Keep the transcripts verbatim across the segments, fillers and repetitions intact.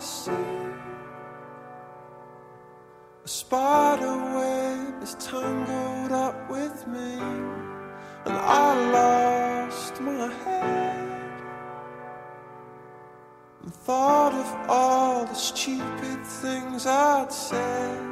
see a spider web is tangled up with me, and I lost my head and thought of all the stupid things I'd said.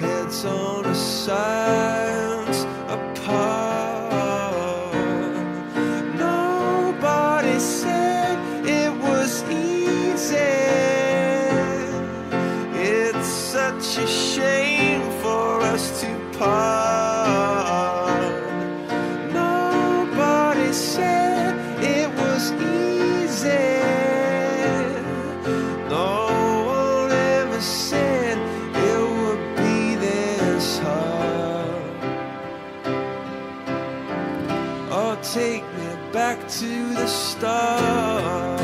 On a science apart. take me back to the start.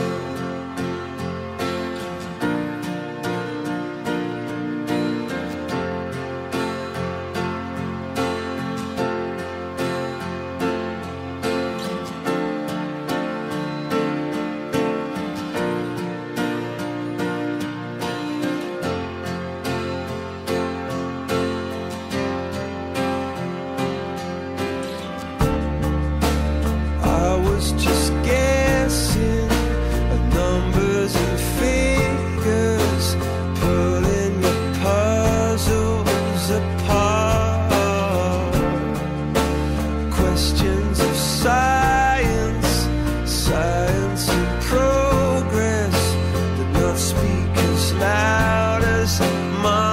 Just guessing at numbers and figures, pulling the puzzles apart. Questions of science, science and progress did not speak as loud as my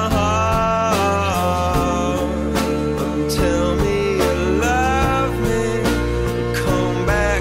heart. Tell me you love me, come back.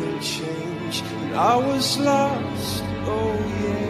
and change, and I was lost, oh yeah.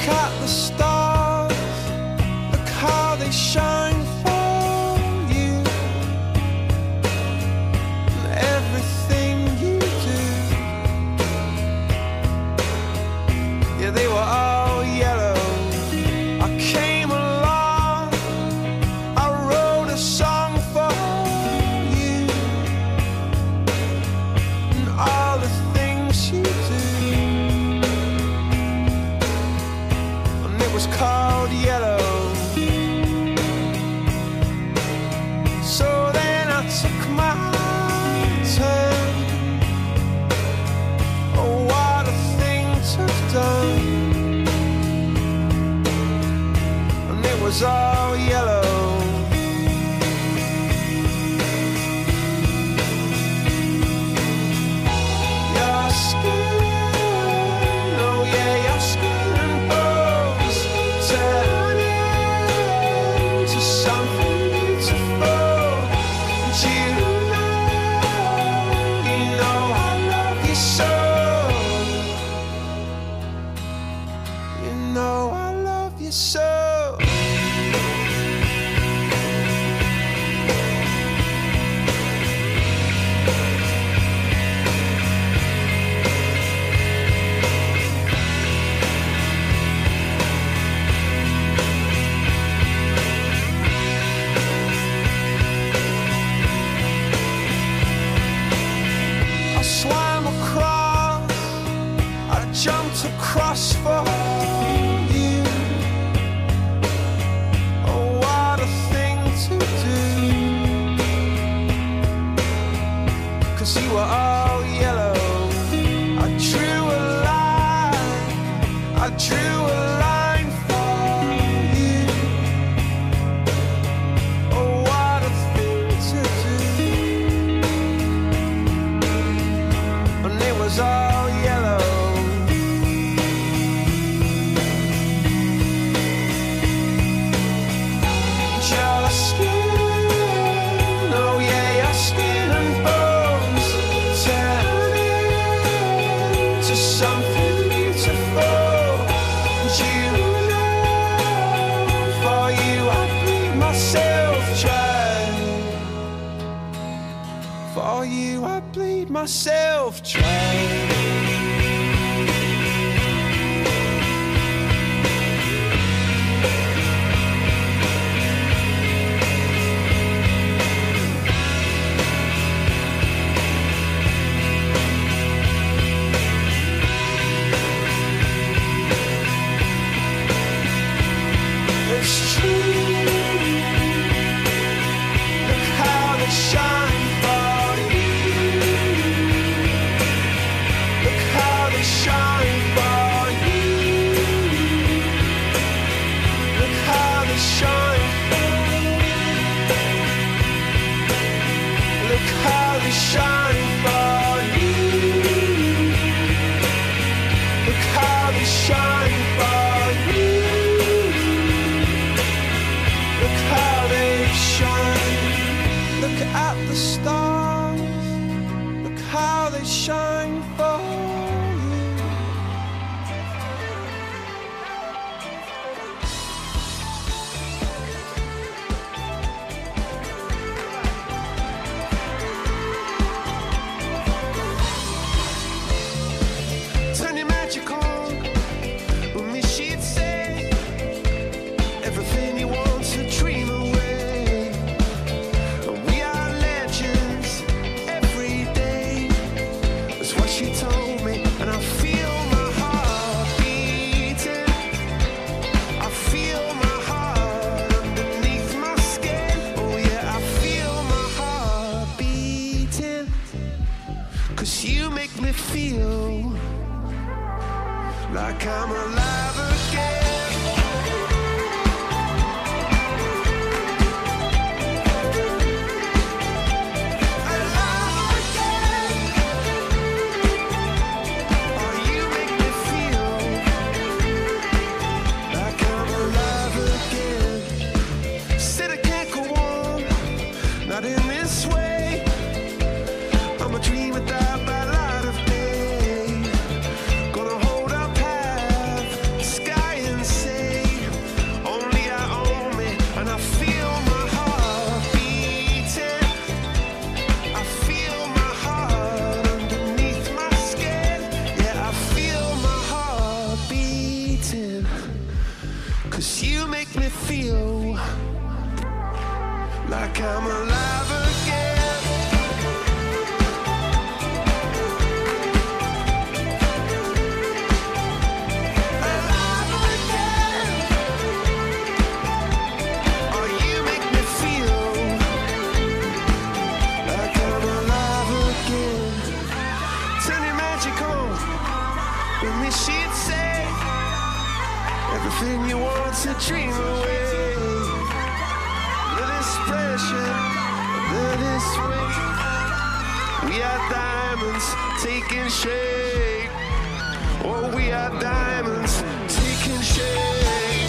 at the stars, look how they shine for you. And everything you do, yeah, they were all yellow. I came along, I wrote a song for you. And all the things you do, was called yellow. So then I took my turn. Oh, what a thing to have done. And it was all yellow. Your skin, oh yeah, your skin and bones turn into something beautiful. And you know, you know I love you so. You know I love you so. Swam across, I jumped across for you. Oh, what a thing to do. 'Cause you were all yellow. I drew a line, I drew a line for you. Oh, what a thing to do. And it was all yellow. Your skin, oh yeah, your skin and bones turn into something beautiful. And you know, for you I'd bleed myself dry. For you I'd bleed myself dry. It's true. Look how they shine for you. Look how they shine for you. Look how they shine for you. Look how they shine for you. Look how they shine for you. Look how they shine. Look at the stars. Look how they shine for you. Turn your magic on. With me she'd say everything you want to dream away. We are legends every day. That's what she told me, and I feel my heart beating. I feel my heart underneath my skin. Oh yeah, I feel my heart beating. 'Cause you make me feel like I'm alive again. Alive again. Oh, you make me feel like I'm alive again. Said I can't go on, not in this way. I'm a dream without my light of day. Gonna hold up half the sky and 'cause you make me feel like I'm alive again. Alive again. Oh, you make me feel like I'm alive again. Turn your magic on when this she'd say everything you want to dream away. Pressure, that is weight. We are diamonds taking shape. Oh, we are diamonds taking shape.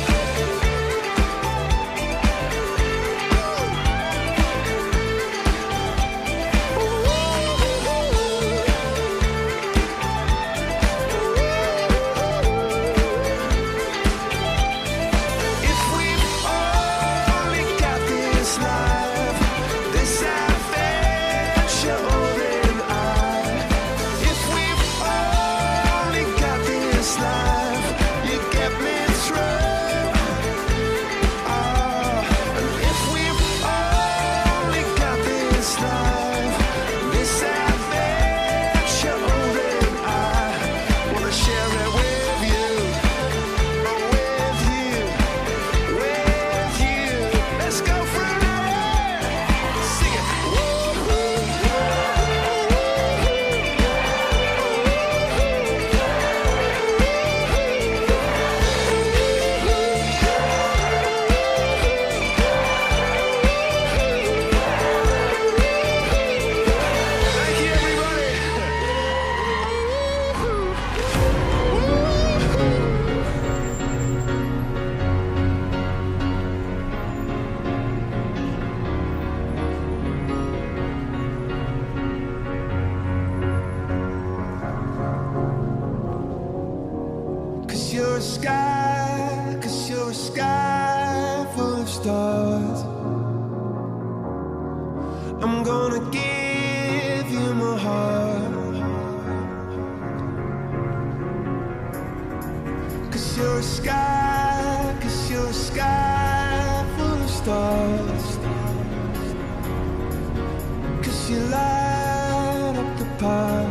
You're a sky, 'cause you're a sky full of stars. I'm gonna give you my heart, 'cause you're a sky, 'cause you're a sky full of stars. 'Cause you light up the park.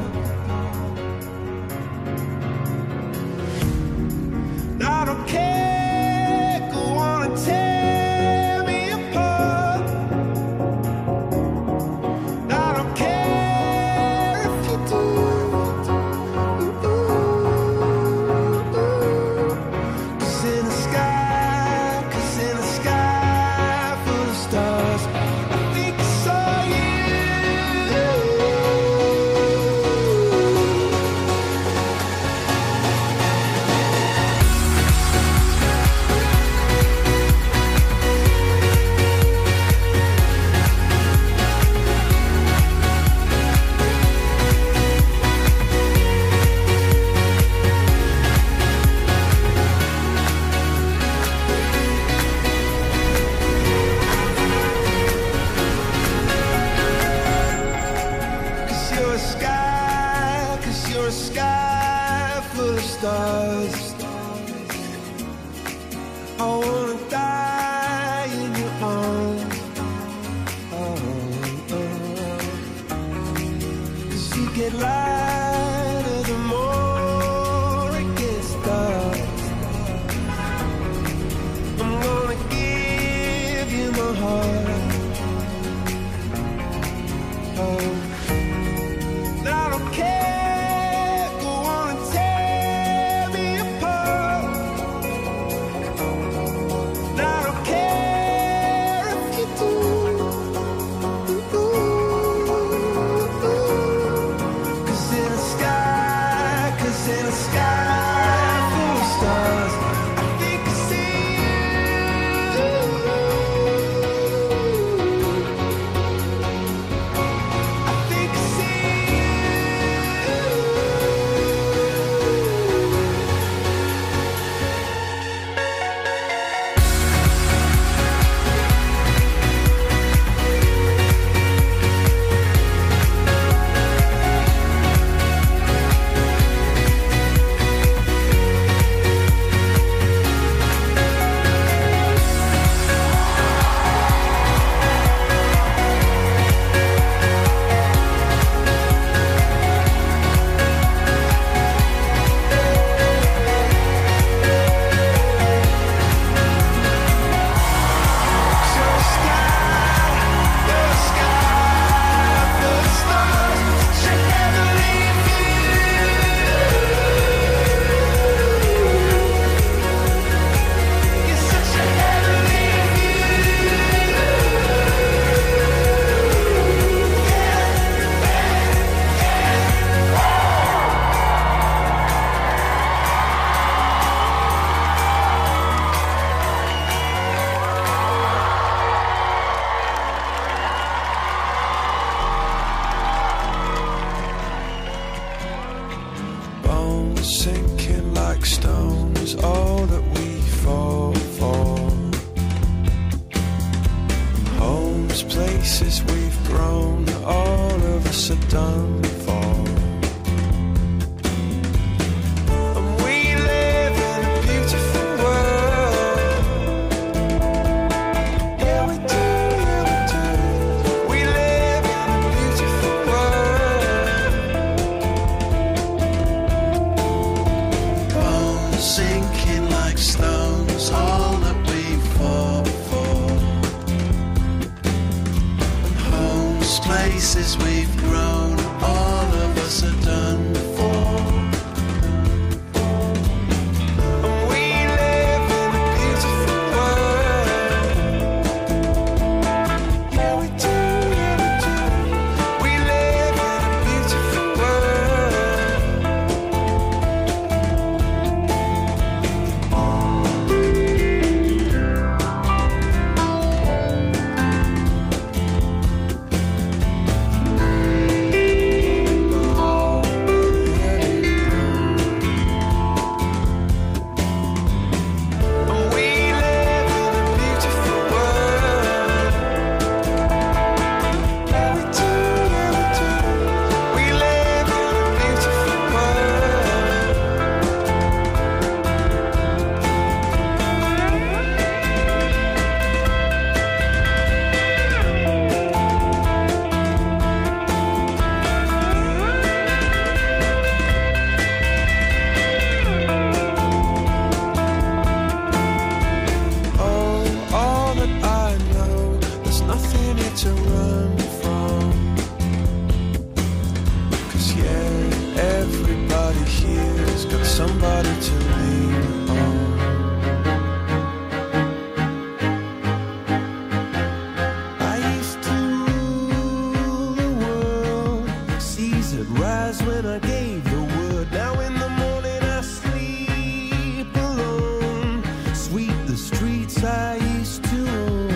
I don't care, go on and tear me apart. I don't care if you do. Cause in the sky, cause in the sky full of stars, I think I saw you. You're a sky full of stars. I wanna die in your arms. Oh, oh. 'Cause you get lighter the more it gets dark. I'm gonna give you my heart. Oh, I don't care. stones, all that we fall for. Homes, places we've grown, all of us are done for. Places we've grown, all of us are done for. And we live in a beautiful world. Yeah, we do, yeah, we do. We live in a beautiful to run from. 'Cause yeah, everybody here's got somebody to lean on. I used to rule the world, seas would rise when I gave the word. Now in the morning I sleep alone, sweep the streets I used to own.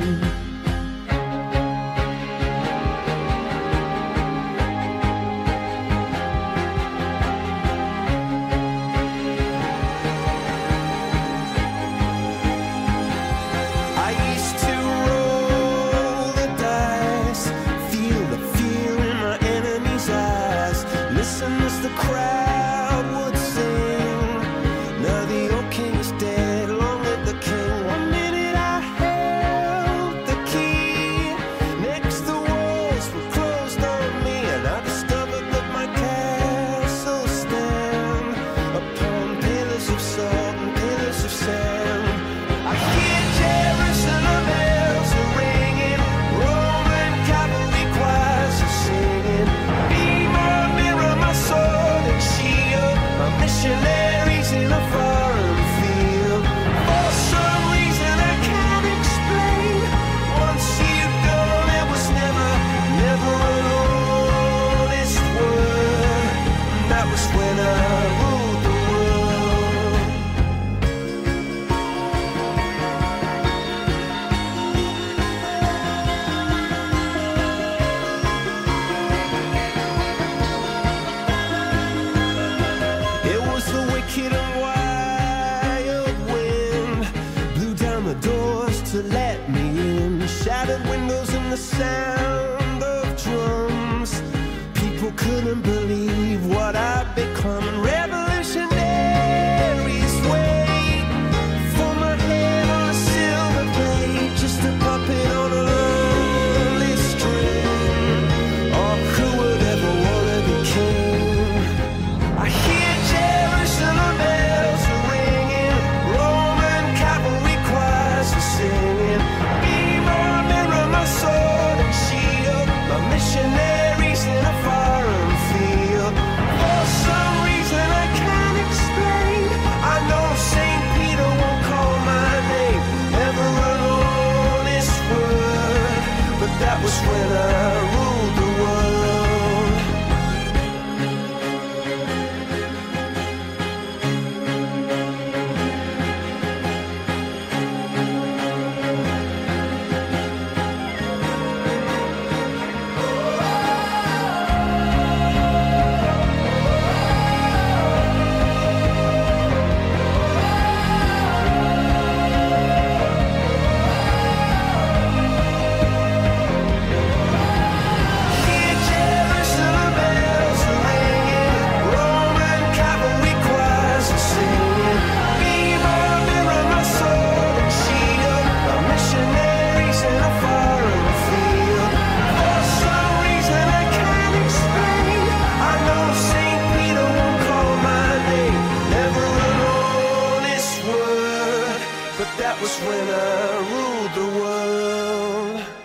The crowd would sing. Now the old king is dead, long live the king. One minute I held the key, next the walls were closed on me, and I discovered that my castle stand upon pillars of salt and pillars of sand. I hear Jerusalem bells are ringing, Roman cavalry choirs are singing. Be my mirror, my soul, missionaries in a foreign field. For some reason I can't explain, once you've gone it was never, never an honest word. That was when I ruled the to let me in. Shattered windows and the sound of drums. People couldn't believe what I'd become. And revolutionaries wait for my head on a silver plate, just a puppet on a lonely string. Oh, who would ever wanna be king? I hear Jerusalem bells are ringing, Roman cavalry choirs are singing. Be my mirror, my sword and shield, my missionaries in a foreign field. For That was when I ruled the world.